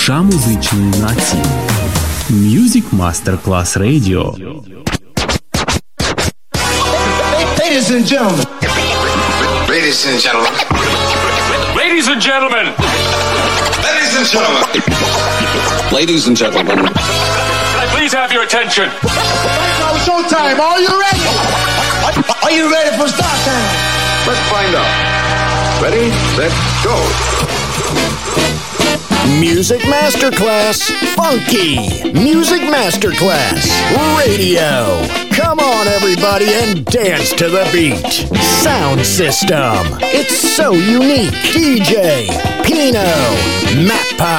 Душа музичної нації. Music Masterclass Radio. Ladies and gentlemen. Ladies and gentlemen. Ladies and gentlemen. Ladies and gentlemen. Ladies and gentlemen. Can I please have your attention? Now showtime. Are you ready? Are you ready for start time? Let's find out. Ready, set, go. Music Masterclass Funky. Music Masterclass Radio. Come on, everybody, and dance to the beat. Sound system. It's so unique. DJ Pino Mappa.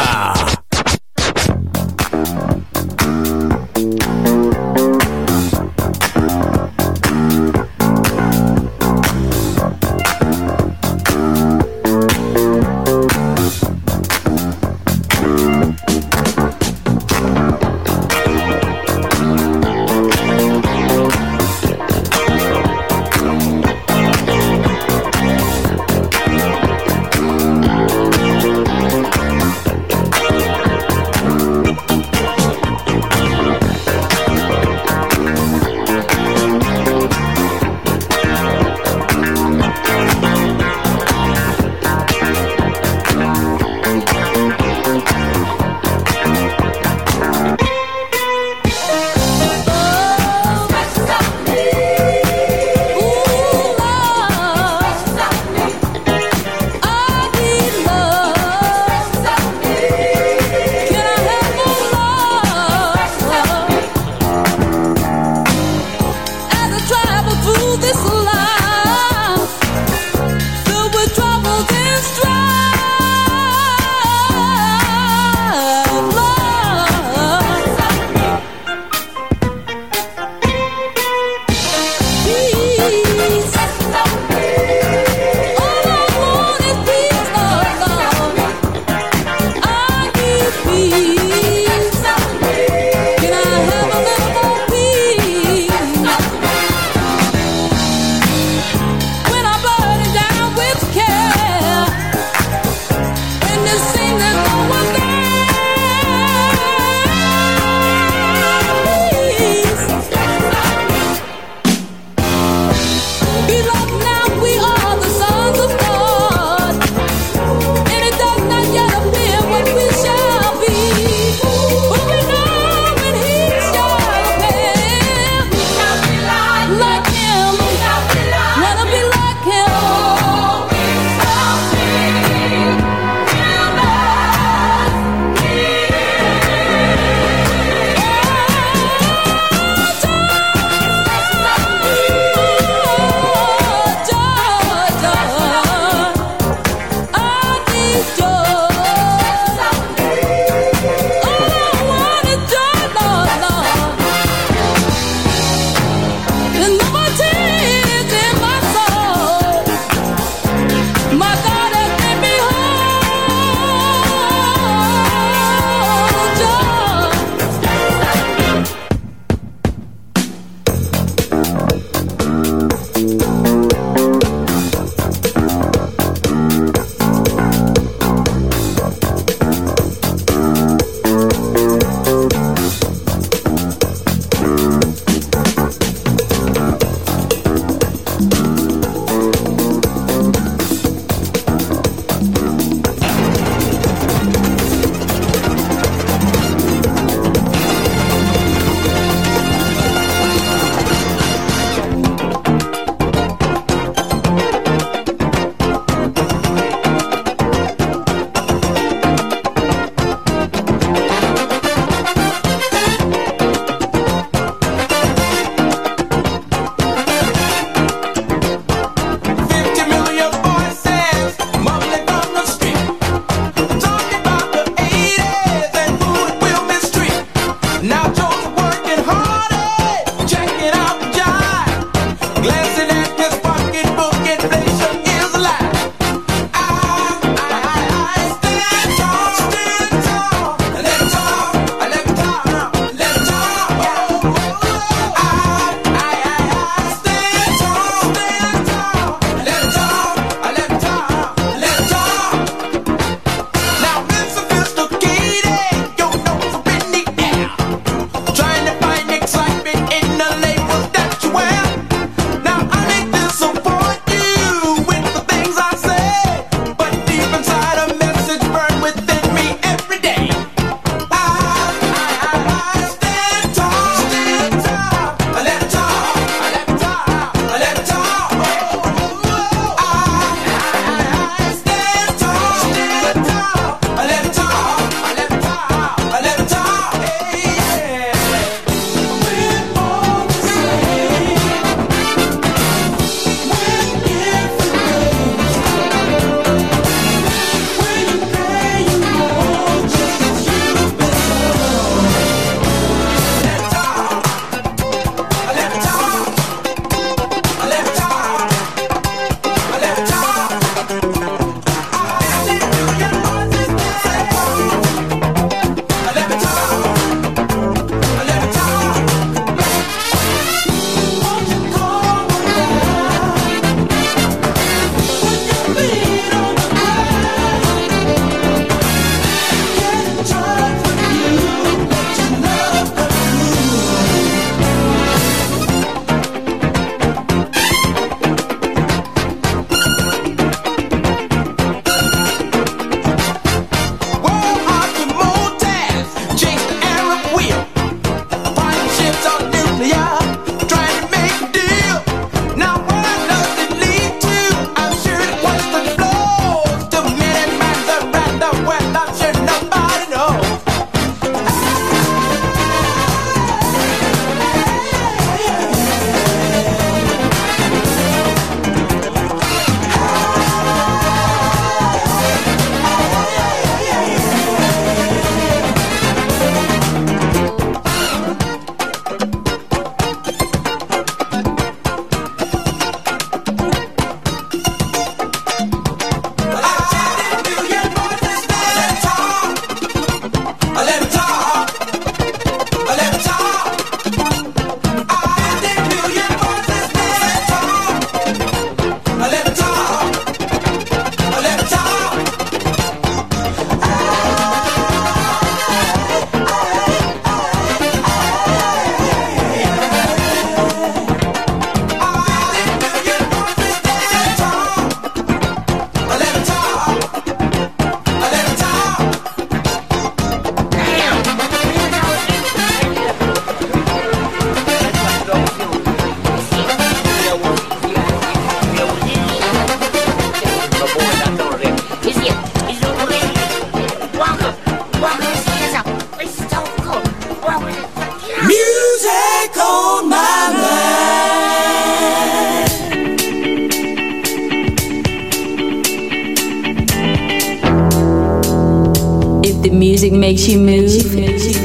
The music makes you move.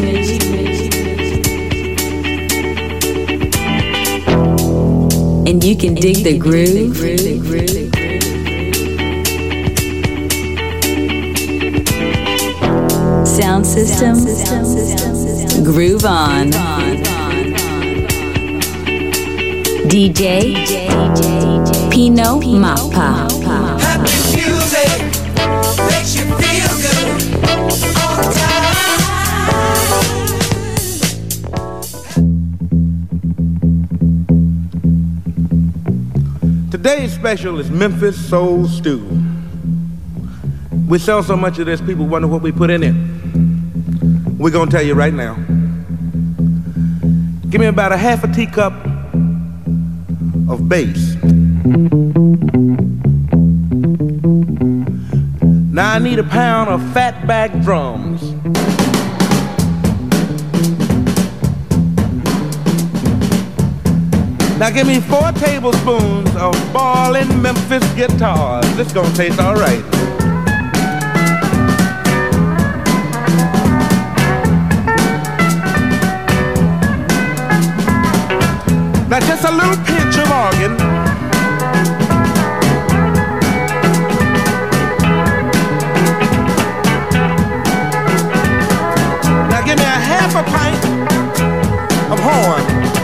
And you can dig the groove. Sound system. Groove on. DJ Pino Mappa. Happy music makes you feel good all the time. Today's special is Memphis Soul Stew. We sell so much of this, people wonder what we put in it. We're gonna tell you right now. Give me about a half a teacup of bass. Now I need a pound of fatback drums. Now give me 4 tablespoons of ballin' Memphis guitars. This gonna taste all right. Now just a little pinch of organ. Now give me a half a pint of horn.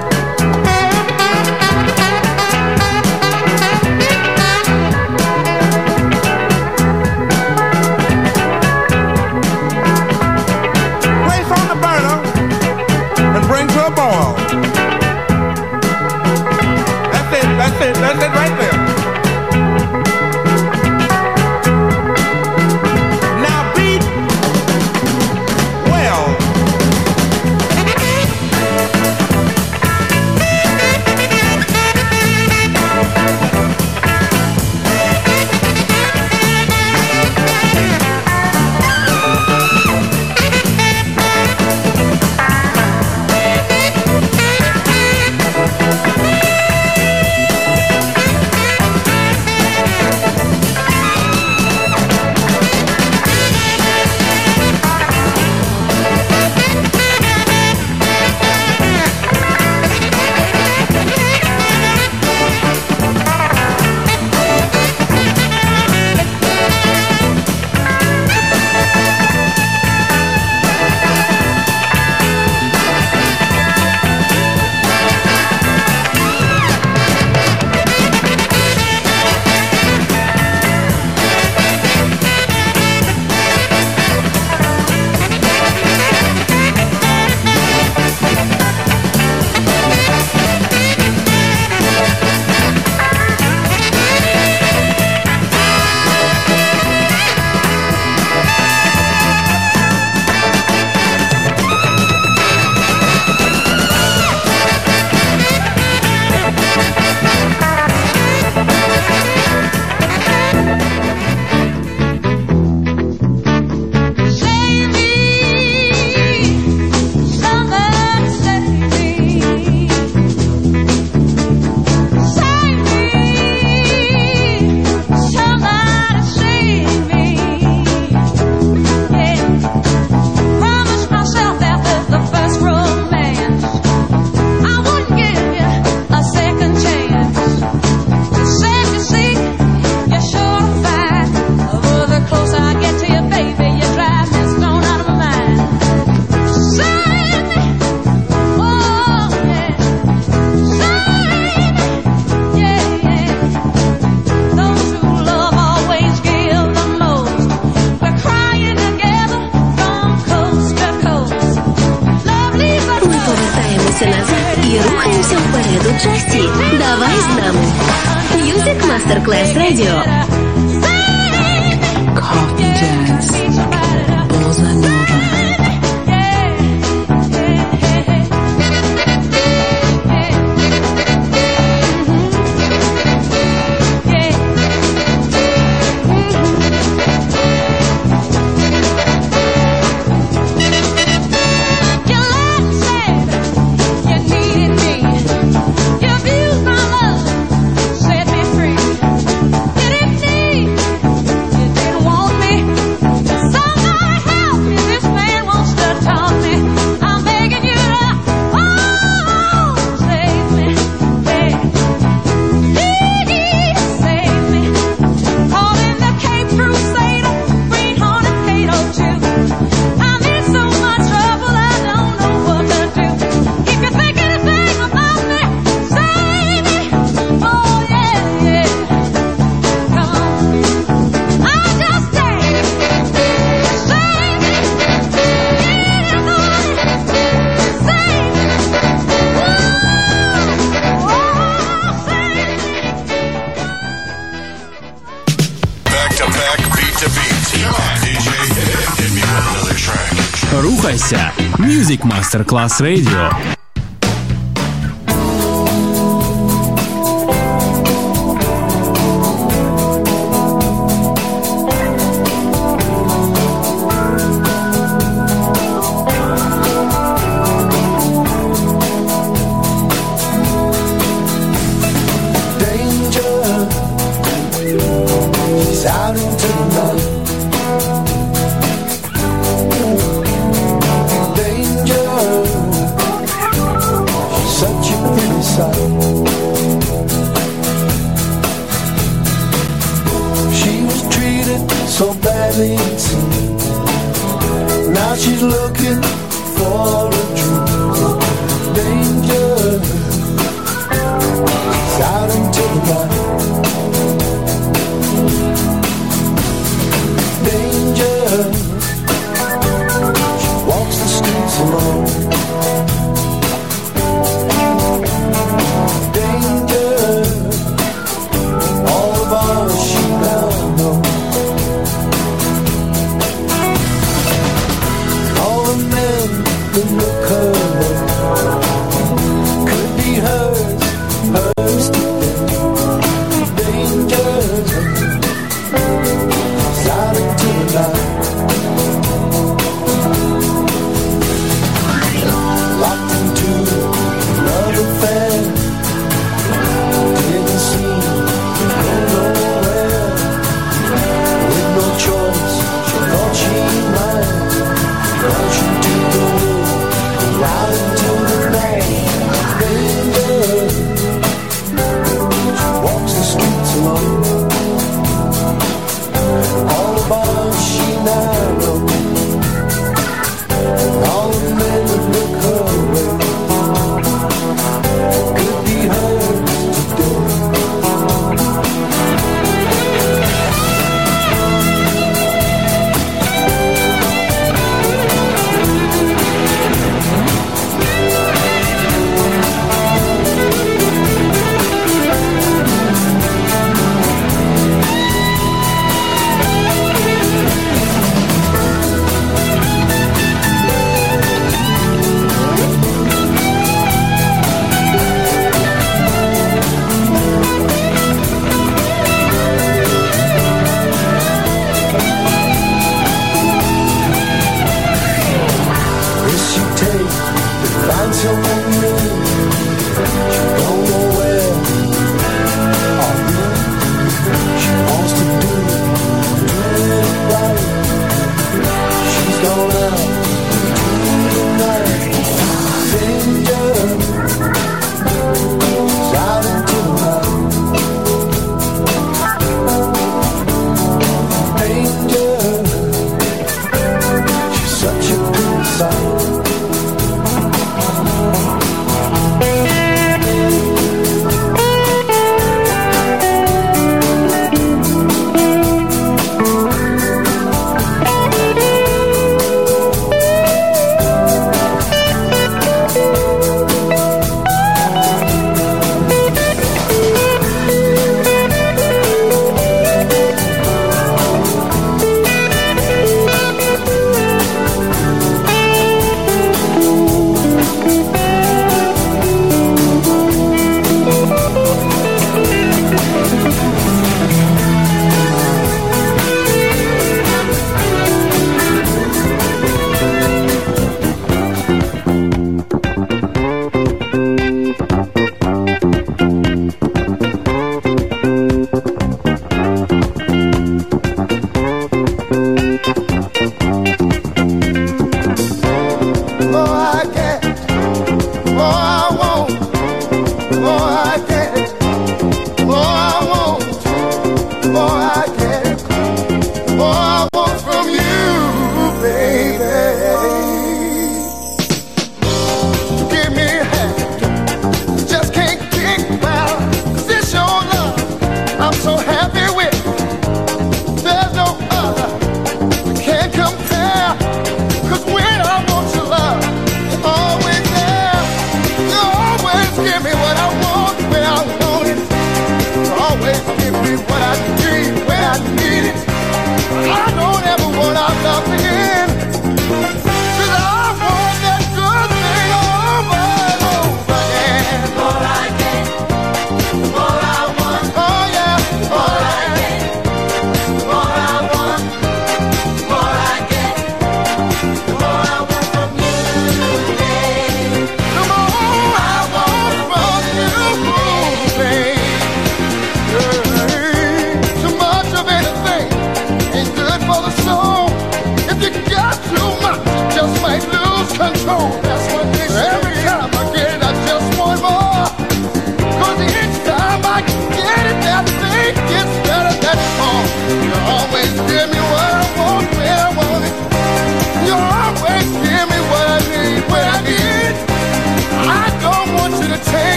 Place on the burner and bring to a boil. That's it right there. Now beat well. Давай з нами. Music Masterclass Radio. Coffee Jazz. Bossa Nova. Didn't need, you didn't want me. Рухайся! Music Masterclass Radio.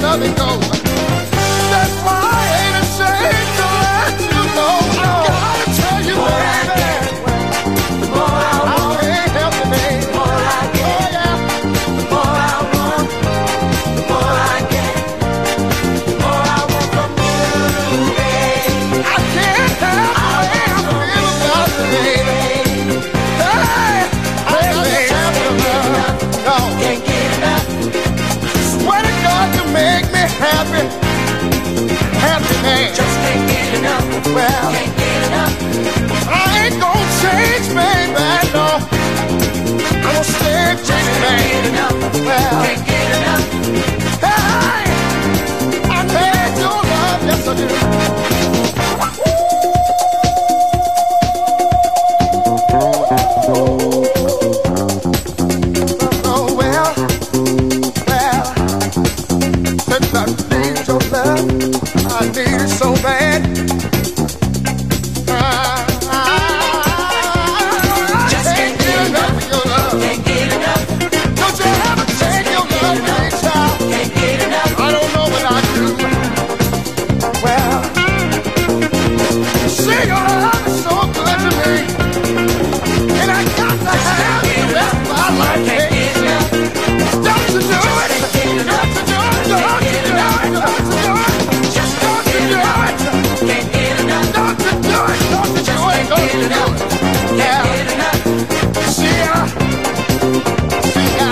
love it goes. That's why I ain't ashamed to let you know. No, I gotta tell you what I get. The more I want, I can't help it, babe. The more I get, oh yeah. The more I want, the more I get. The more I want from you, babe. I can't help the way I feel about you, baby. Hey, baby, no, can't get enough. Swear to God, you make me happy, happy man. Just can't get enough. Well, can't get enough. I ain't gonna change, baby, no. I'm gonna stay just man. Can't get enough. Well, can't get enough. Hey, I need your love, yes I do. Oh well, since I need your love, I need it so bad. Just can't get enough of your love. Can't get enough. Don't you ever take your love away, child? Can't get enough. I don't know what I do. Well, see, your love is so good to me, and I got to have you. That's why I like it. Don't you do it? Don't you do it? Don't you do it? Don't you do it? Just don't you do it? Can't get enough. Don't you do it? Don't you do it? Don't you do it? Yeah. See ya. See ya.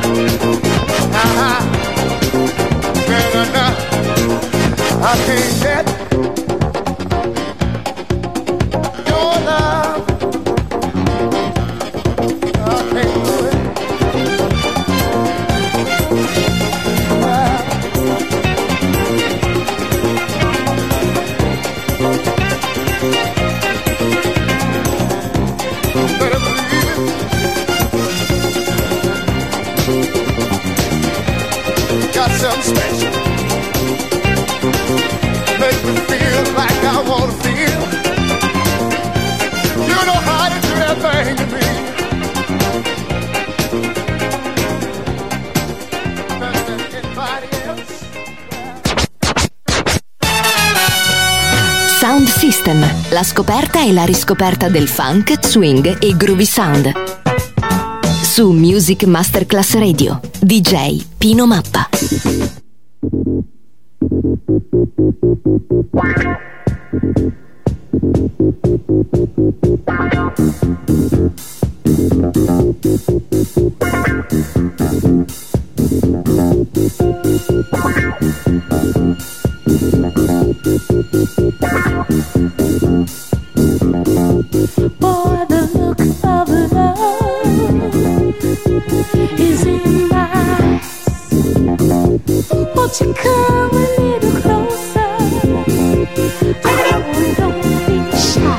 Good enough. I can't get your love. I can't do it. Better believe it. Got something special. Make me feel like I wanna feel. You know how to do that thing to me. Better than anybody else. Sound System, la scoperta e la riscoperta del funk, swing e groovy sound. Su Music Masterclass Radio, DJ Pino Mappa. Boy, the look of love is in my eyes. Won't you come a little closer? Don't be shy.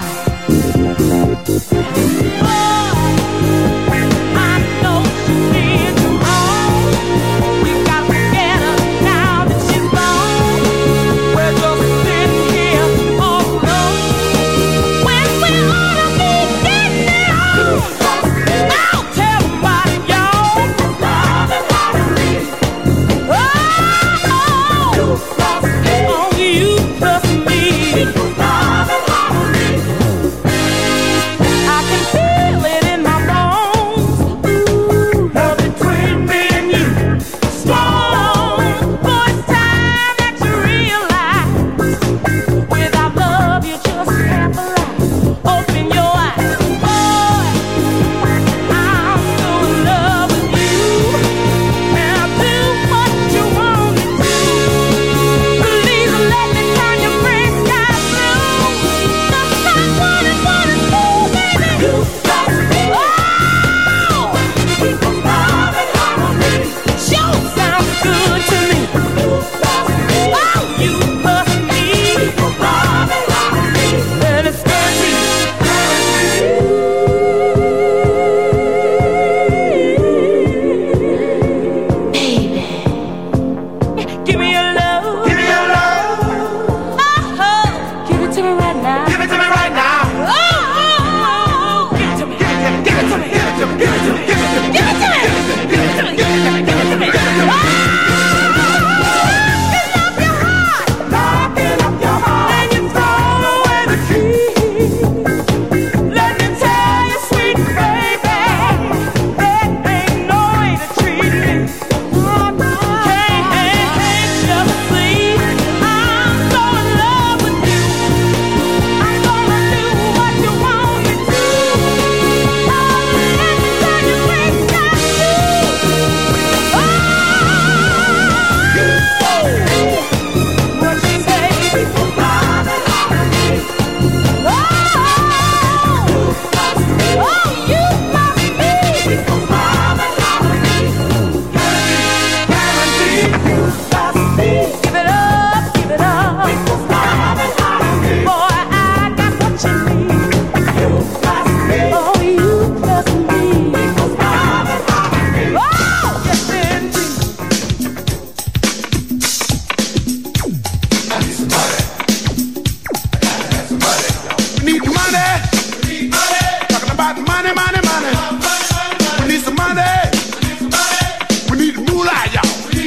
money. We need some money. We need moolah, y'all.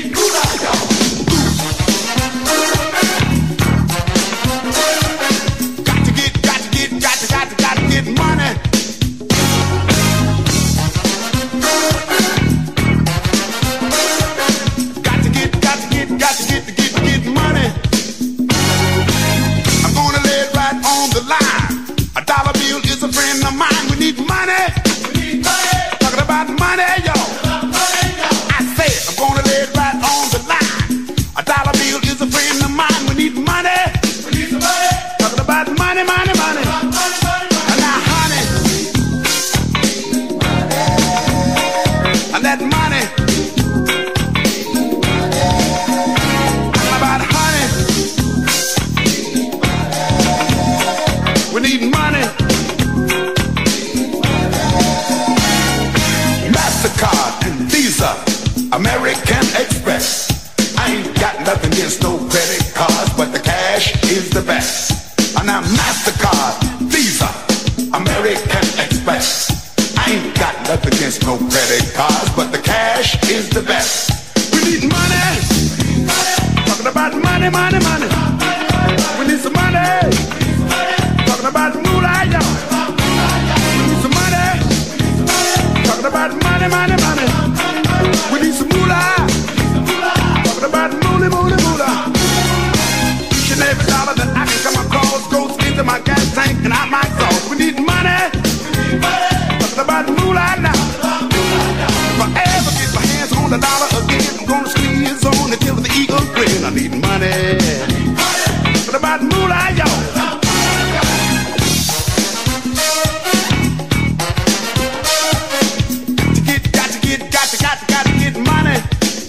Got to get money. Got to get money. I'm gonna lay it right on the line. A dollar bill is a friend of mine. We need money. Talking about money, y'all. I said I'm gonna lay it right on the line. A dollar bill is a friend of mine. We need money. Talking about money, money, money. And now, honey, and that money. Talking about honey. We need money. MasterCard and Visa, American Express. I ain't got nothing against no credit cards, but the cash is the best. And now MasterCard, Visa, American Express. I ain't got nothing against no credit cards, but the cash is the best. We need money. Talking about money, money, money. We need some money. Talking about moolah, y'all. We need some money. Talking about money, money, money. We need some moolah. Talking about moolah, moolah, moolah. Each and every dollar that I can come across goes into my gas tank and out my exhaust. We need money. Talking about moolah now. If I ever get my hands on the dollar again, I'm gonna squeeze on it till the eagle grin. I need money. Talking about moolah, y'all. Got to get money.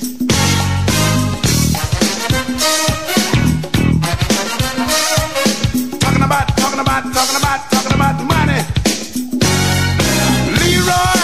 Talking about money. Leroy.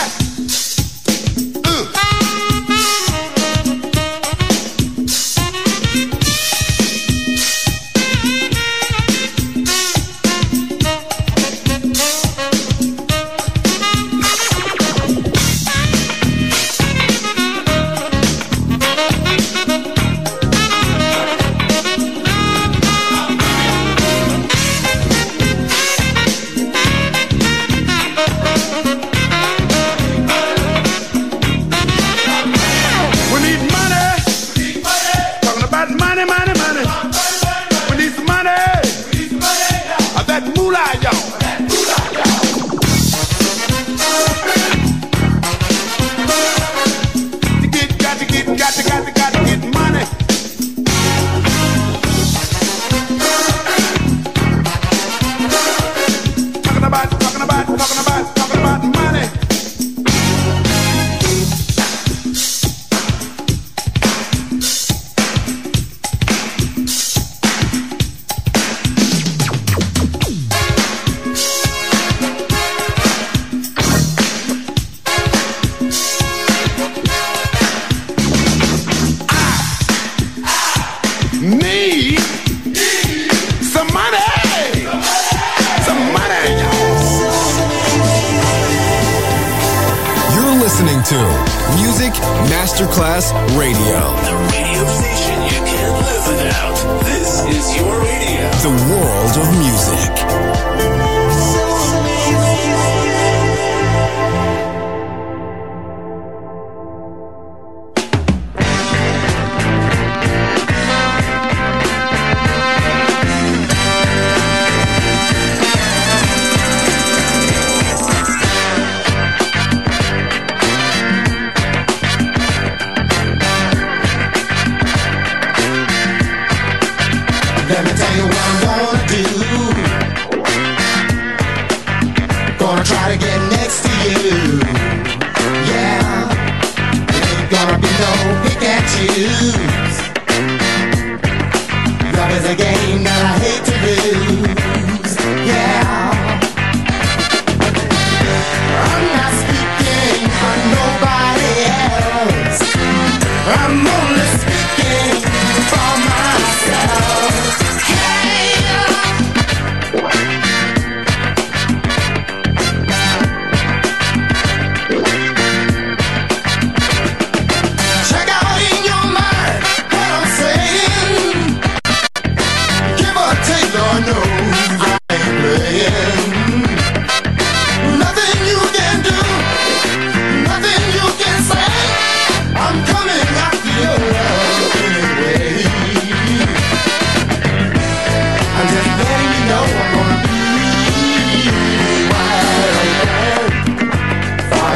Music Masterclass Radio. The radio station you can't live without. This is your radio. The world of music. Let me tell you what I'm gonna do.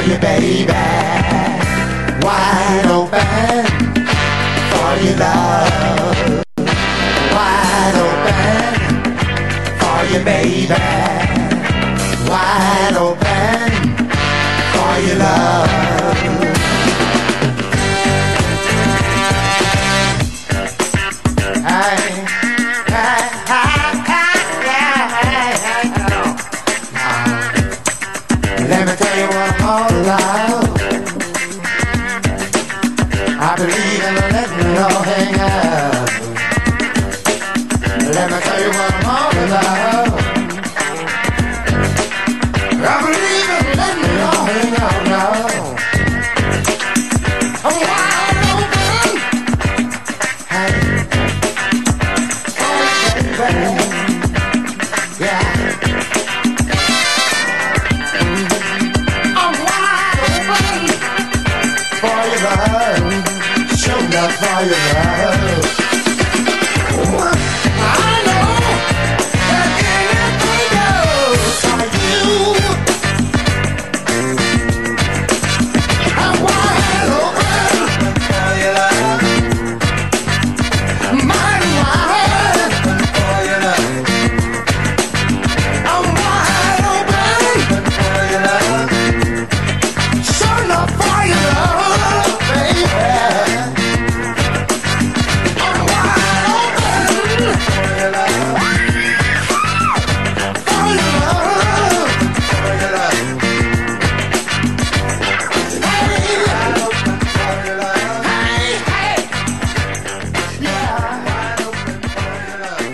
you, baby. Wide open for your love. Wide open for you, baby. Wide open for your love. Let me tell you what I'm all about. I believe in letting it all hang out. Let me tell you what I'm all about. I believe in letting it all hang out now. I'm wide open. Hey. Oh, baby. Yeah. I'm wide open for your love. Show up for your love. I know that anything goes for you. I'm wide open for your love. Mighty wide for your love. I'm wide open for your love. Show up for your love, baby. I'm wide open for your love. For your love. For your love. Hey, wide open for your love. Hey, hey. Yeah, wide open for your love.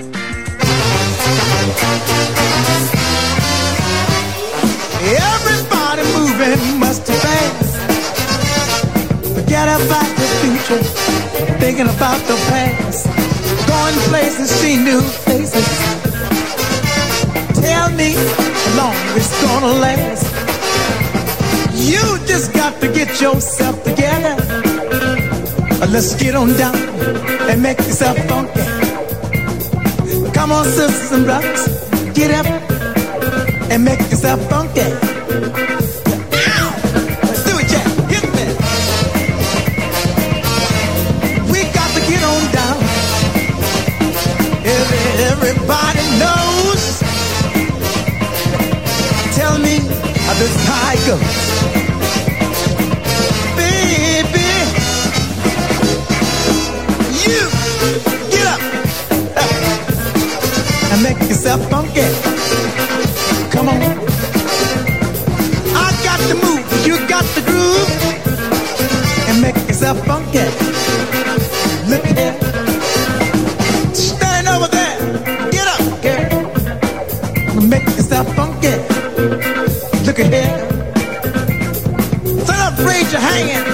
Everybody moving must have fast. Forget about the future, thinking about the past. Going places, see new faces. Tell me how long it's gonna last. You just got to get yourself together. Let's get on down and make yourself funky. Come on, sisters and brothers, get up and make yourself funky. Do it, Jack. Hit me. We got to get on down. Everybody knows. Tell me how this high goes. Baby, you get up and make yourself funky. Come on. I got the move, you got the groove, and make yourself funky. Look here. Stand over there. Get up, girl. Make yourself funky. Look at here. Stand up, raise your hand.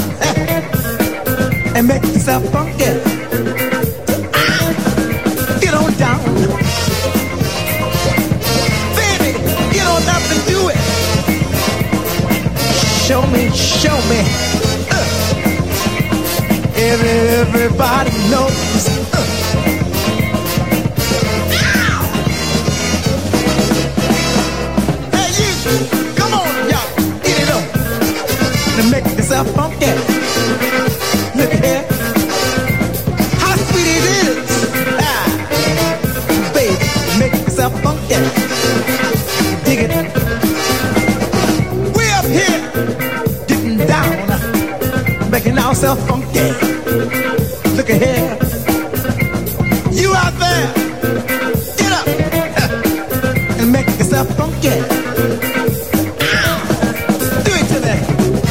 And make yourself funky. Get on down. Show me. Everybody knows. Hey, you, come on, y'all, get it on. To make yourself funky. Look here. How sweet it is. Baby, make yourself funky. Dig it. Way up here. Down, making ourselves funky. Look at here. You out there, get up and make yourself funky. Do it to me.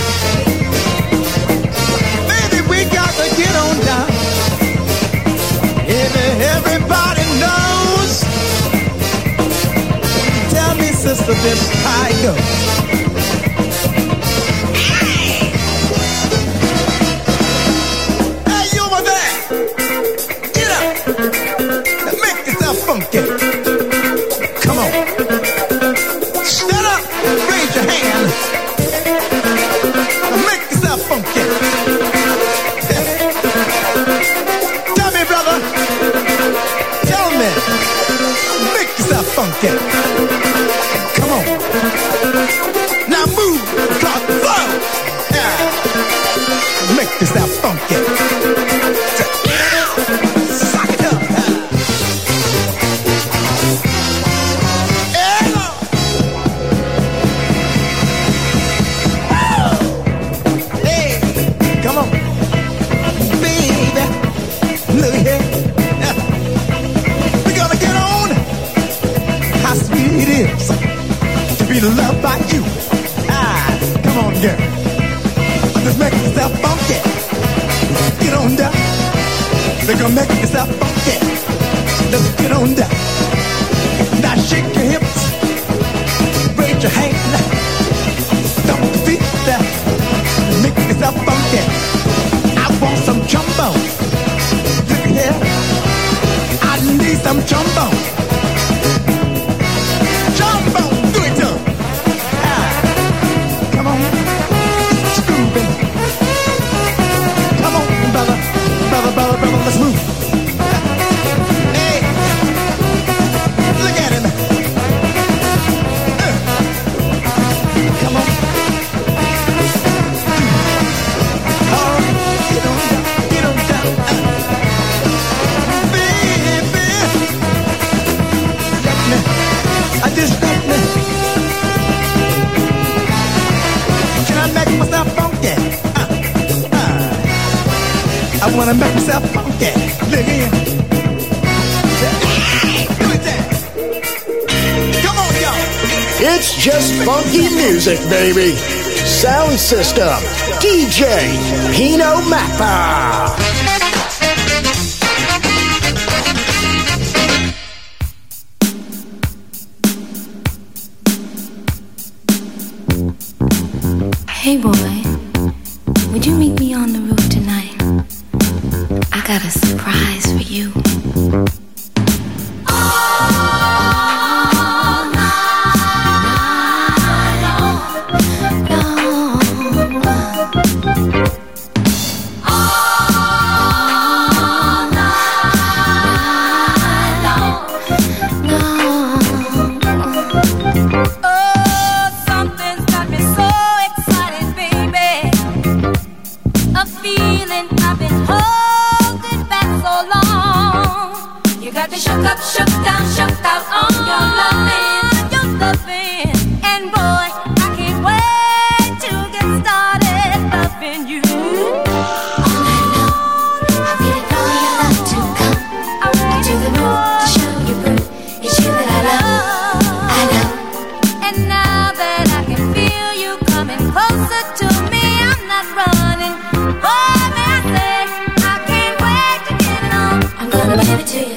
Baby, we got to get on down. Everybody knows. Tell me, sister, this how it goes. Funky. Come on. Stand up, raise your hand. Make yourself funky. Tell me, brother. Tell me. Make yourself funky. Come on. Now move across the floor. get on down. They're gonna make yourself funky. Let's get on down. Now shake your hips, raise your hand, stomp your feet down, make yourself funky. I want some trombone. Look here, I need some trombone. Trombone, do it to 'em. Come on, grooving. Come on, brother, brother, brother, brother, let's move. Hey, look at him. Come on. All right, get on down, get on down. Baby, let me, I just let me. Can I make myself funky? I wanna make myself funky. Look here. Do it there. Come on, y'all. It's just funky music, baby. Sound system, DJ Pino Mappa. Hey boy, would you meet me on the roof tonight? I got a surprise for you. Shook up, shook down, shook out on your loving, and boy, I can't wait to get started loving you. All night long, I really know you love to come to the room to show you proof. It's you that I love. And now that I can feel you coming closer to me, I'm not running. Boy, may I say, I can't wait to get it on. I'm gonna give it to you.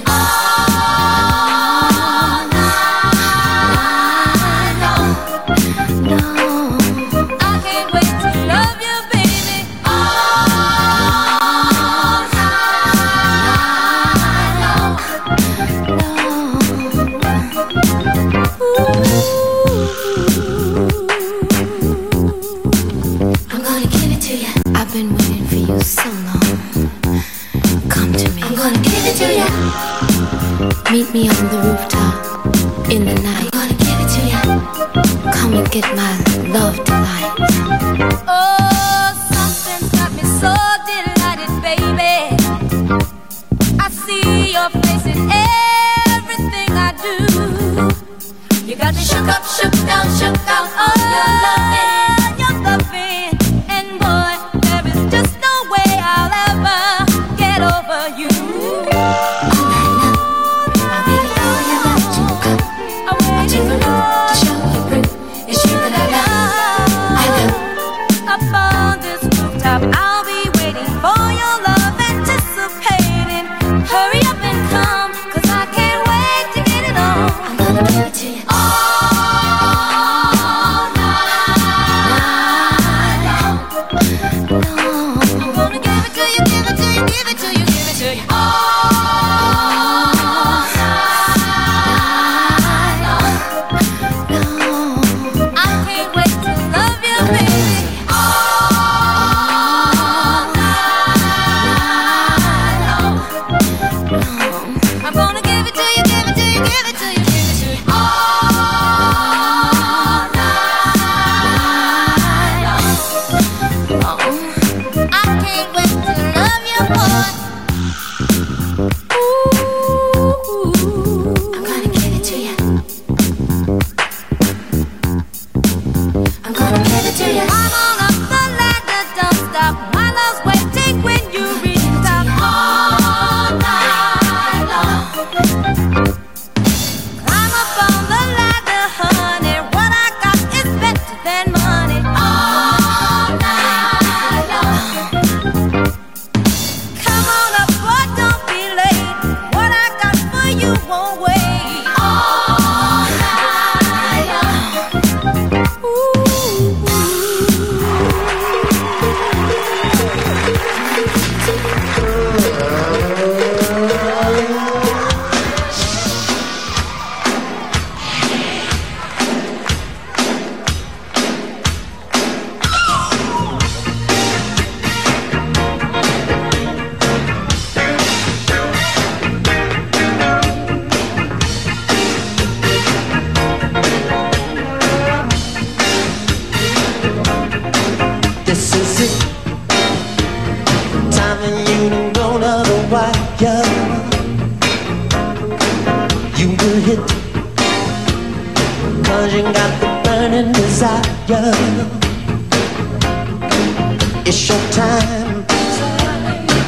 Meet me on the rooftop in the night. I'm gonna give it to you. Come and get my love tonight. Oh, something's got me so delighted, baby. I see your face in everything I do. You got me shook up, shook down, shook out on your loving, and boy, there is just no way I'll ever get over you. I'll be waiting for your love, anticipating. Hurry up and come, 'cause I can't wait to get it on. I'm gonna give it to you. All night.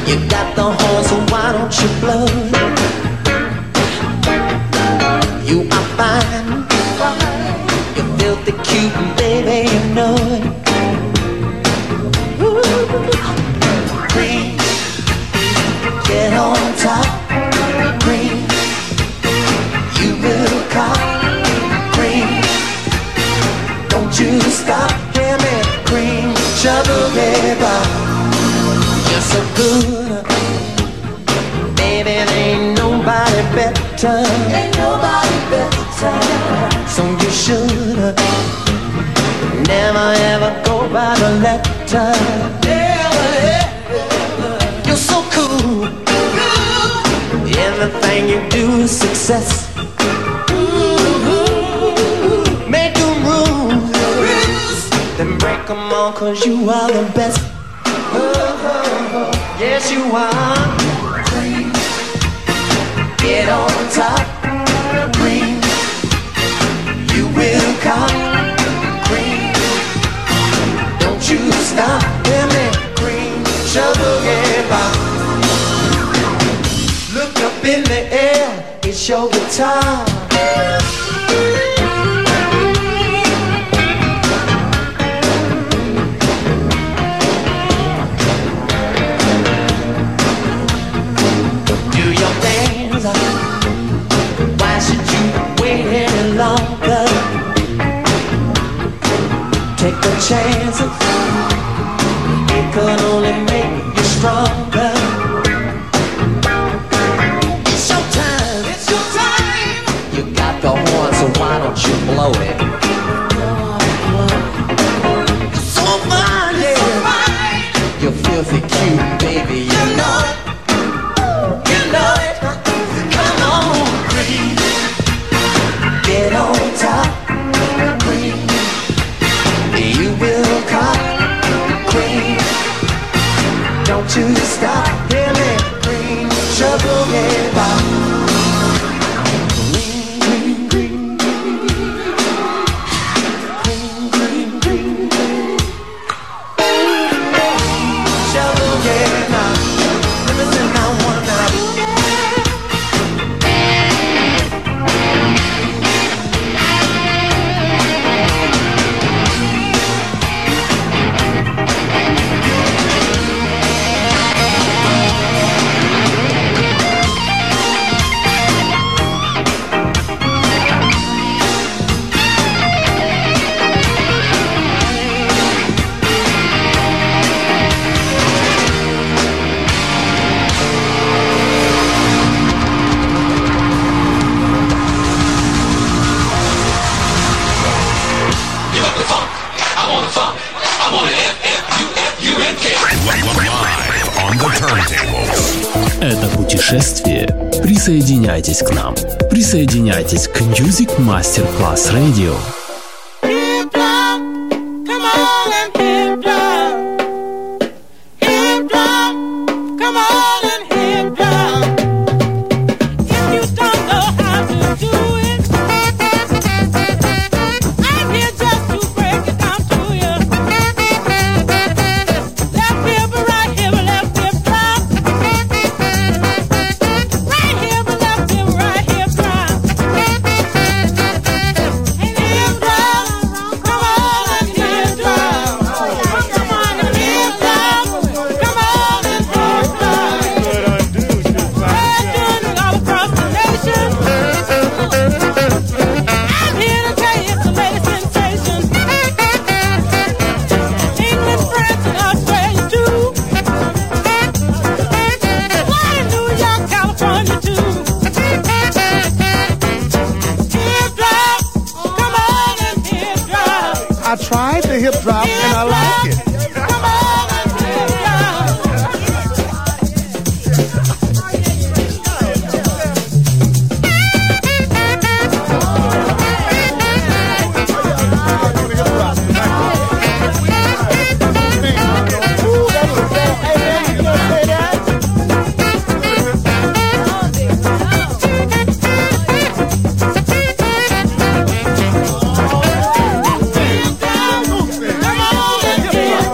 You got the horn, so why don't you blow? You are fine. You're filthy cute, baby, you know it. Ooh. Cream, get on top. Cream, you will cop. Cream, don't you stop. Hear me, cream, trouble, baby. You're so good, baby, there ain't nobody better. Ain't nobody better. So you should never ever go by the letter. Never ever. You're so cool. Everything you do is success. Make them rules, then break them all, 'cause you are the best. Yes, you are. Cream, get on top. Cream, you will come. Cream, don't you stop. Hear me, cream, trouble, yeah. Look up in the air, it's your guitar. Why should you wait any longer? Take the chances, it could only make you stronger. It's your time, it's your time. You got the horn, so why don't you blow it? It's so fine, yeah. So fine. You're filthy cute, baby, you know it. You know it. Get on top, cream. You will cop, cream. Don't you stop, hear me, cream. Trouble, yeah, bop. Cream, cream, cream, cream, cream, cream, cream. Trouble, yeah, bop. Let me sing that one now. Это путешествие. Присоединяйтесь к нам. Присоединяйтесь к Music Masterclass Radio. I tried the hip drop and I like it. Yeah.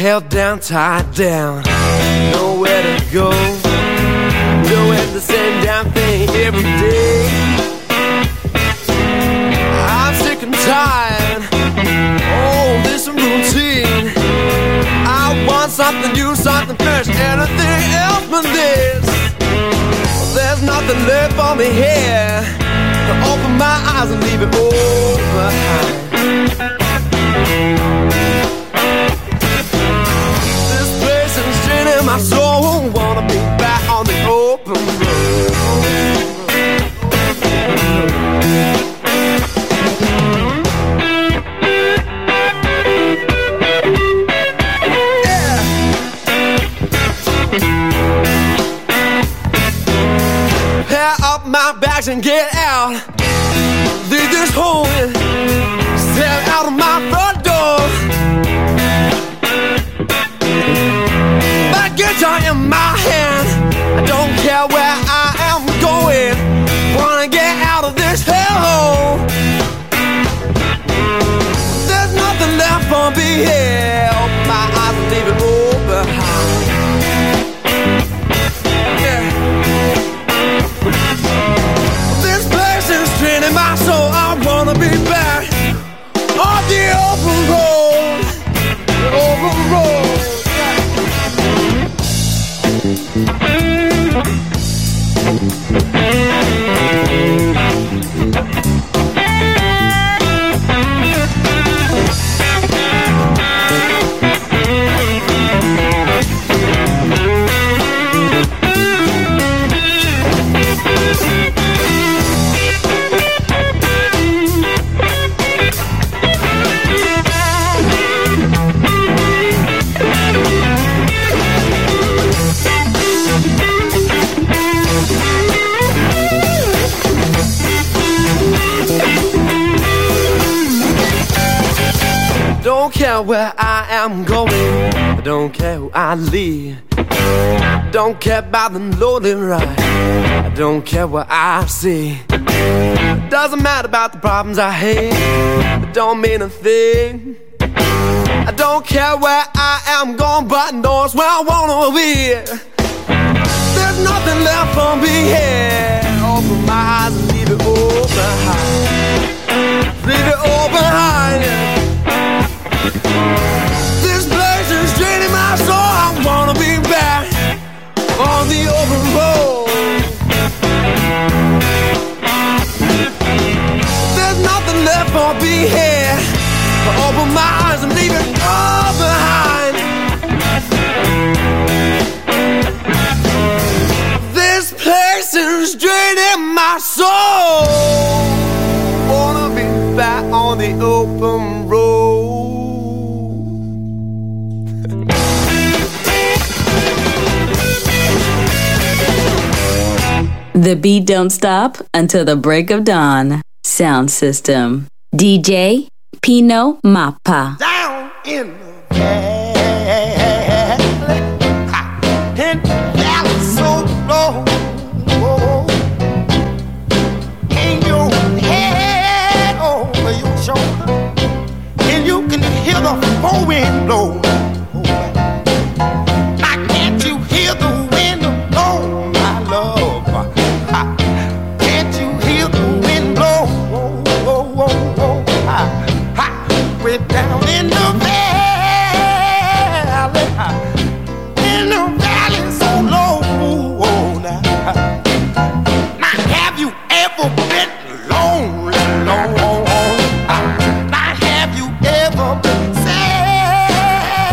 held down, tied down, nowhere to go, doing the same damn thing every day. I'm sick and tired, oh, this routine. I want something new, something fresh, anything else but this. There's nothing left for me here to open my eyes and leave it all behind. This place is draining my soul. Wanna be back on the open road. Pair up my bags and get out. Leave this home and step out of my front door. My guitar in my hand, I don't care where I am going. Wanna get out of this hellhole. There's nothing left for me here. Open my eyes and leave it all behind. Yeah. This place is draining my soul. I wanna be back on the open road. The open road. Don't care where I am going, I don't care who I leave. Don't care about the lonely ride, I don't care what I see. Doesn't matter about the problems I hate, it don't mean a thing. I don't care where I am going, but knows where I wanna be. There's nothing left for me here. Open my eyes and leave it all behind. Leave it all behind. This place is draining my soul. I wanna be back on the open road. There's nothing left for me here. Open my eyes and leave it all behind. This place is draining my soul. Wanna be back on the open road. The beat don't stop until the break of dawn. Sound system. DJ Pino Mappa. Down in the valley, in the valley so low, in your head over your shoulder, and you can hear the four wind blow. Now can't you hear the wind blow, my love? Can't you hear the wind blow? Way down in the valley so low. Now have you ever been lonely, Now have you ever been sad?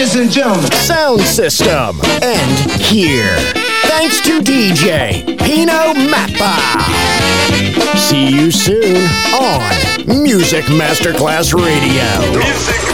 Ladies and gentlemen, Sound System. And here. Thanks to DJ Pino Mappa. See you soon on Music Masterclass Radio. Music